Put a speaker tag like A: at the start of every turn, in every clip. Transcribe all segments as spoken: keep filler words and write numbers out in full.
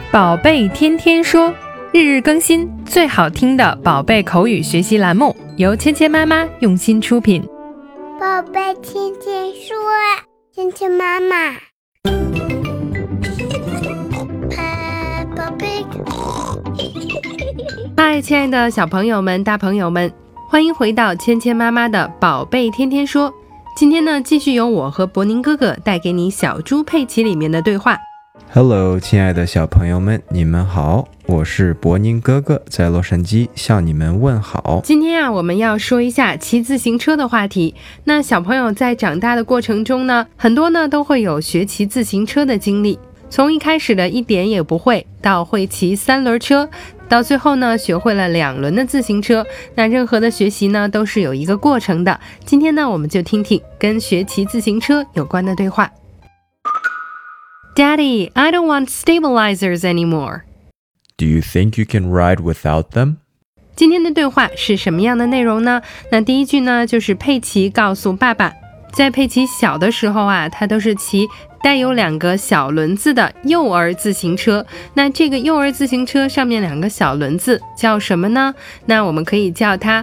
A: 宝贝天天说，日日更新，最好听的宝贝口语学习栏目，由芊芊妈妈用心出品。
B: 宝贝天天说，芊芊妈妈。宝贝。
A: 嗨，亲爱的小朋友们、大朋友们，欢迎回到芊芊妈妈的宝贝天天说。今天呢，继续由我和博宁哥哥带给你小猪佩奇里面的对话。
C: Hello， 亲爱的小朋友们，你们好，我是博宁哥哥，在洛杉矶向你们问好。
A: 今天啊，我们要说一下骑自行车的话题。那小朋友在长大的过程中呢，很多呢都会有学骑自行车的经历，从一开始的一点也不会，到会骑三轮车，到最后呢学会了两轮的自行车。那任何的学习呢都是有一个过程的。今天呢，我们就听听跟学骑自行车有关的对话。Daddy, I don't want stabilizers anymore.
C: Do you think you can ride without them?
A: 今天的对话是什么样的内容呢？那第一句呢，就是佩奇告诉爸爸，在佩奇小的时候啊，他都是骑带有两个小轮子的幼儿自行车。那这个幼儿自行车上面两个小轮子叫什么呢？那我们可以叫它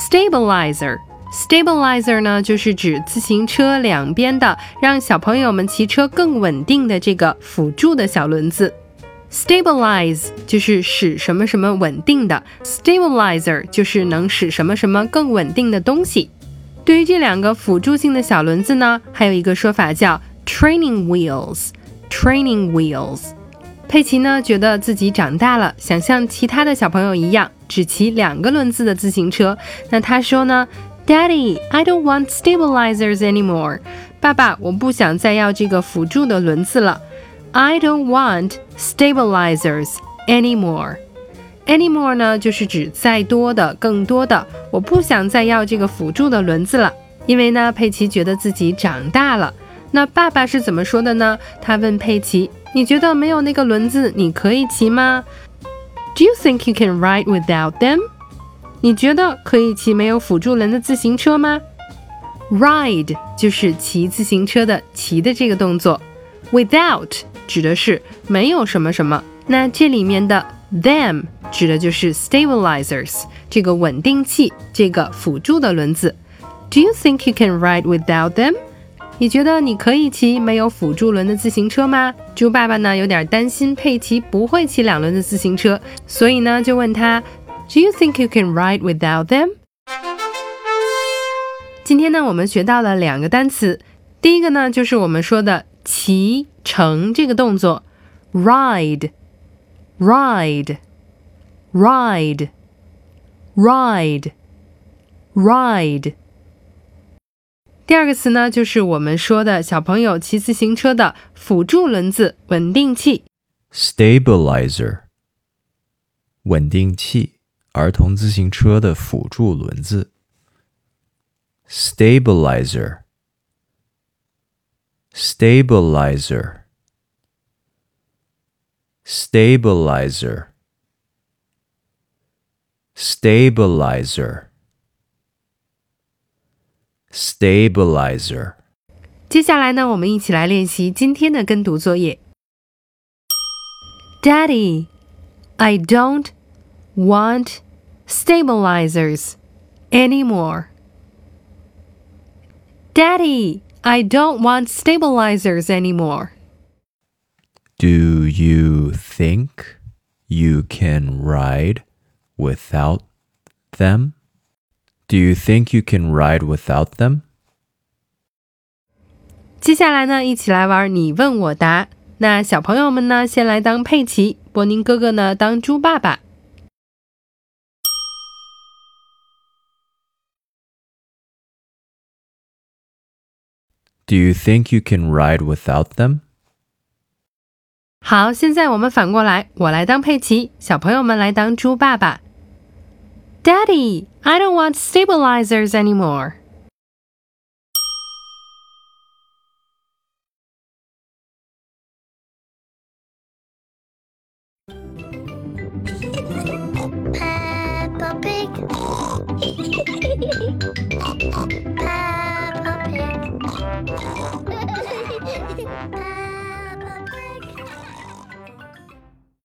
A: stabilizer。Stabilizer 呢，就是指自行车两边的让小朋友们骑车更稳定的这个辅助的小轮子。Stabilize 就是使什么什么稳定的， Stabilizer 就是能使什么什么更稳定的东西。对于这两个辅助性的小轮子呢，还有一个说法叫 training wheels training wheels。 佩奇呢觉得自己长大了，想像其他的小朋友一样只骑两个轮子的自行车。那他说呢， Daddy, I don't want stabilizers anymore. 爸爸，我不想再要这个辅助的轮子了。 I don't want stabilizers anymore. Anymore 呢，就是指再多的、更多的。我不想再要这个辅助的轮子了，因为呢，佩奇觉得自己长大了。那爸爸是怎么说的呢？他问佩奇，你觉得没有那个轮子你可以骑吗？ Do you think you can ride without them? 你觉得可以骑没有辅助轮的自行车吗？ Ride 就是骑自行车的骑的这个动作， Without 指的是没有什么什么。那这里面的 them 指的就是 stabilizers 这个稳定器，这个辅助的轮子。 Do you think you can ride without them? 你觉得你可以骑没有辅助轮的自行车吗？猪爸爸呢有点担心佩奇不会骑两轮的自行车，所以呢就问他， Do you think you can ride without them? 今天呢我们学到了两个单词，第一个呢就是我们说的骑乘这个动作， ride ride ride ride ride。 第二个词呢，就是我们说的小朋友骑自行车的辅助轮子稳定器，
C: Stabilizer 稳定器，儿童自行车的辅助轮子。 Stabilizer Stabilizer Stabilizer Stabilizer Stabilizer。
A: 接下来呢，我们一起来练习今天的跟读作业。 Daddy, I don't want stabilizers anymore. Daddy, I don't want stabilizers anymore.
C: Do you think you can ride without them? Do you think you can ride without them?
A: 接下来呢，一起来玩你问我答。那小朋友们呢，先来当佩奇，博宁哥哥呢当猪爸爸。
C: Do you think you can ride without them?
A: 好，现在我们反过来，我来当佩奇，小朋友们来当猪爸爸。Daddy, I don't want stabilizers anymore.
B: Peppa Pig. Peppa Pig.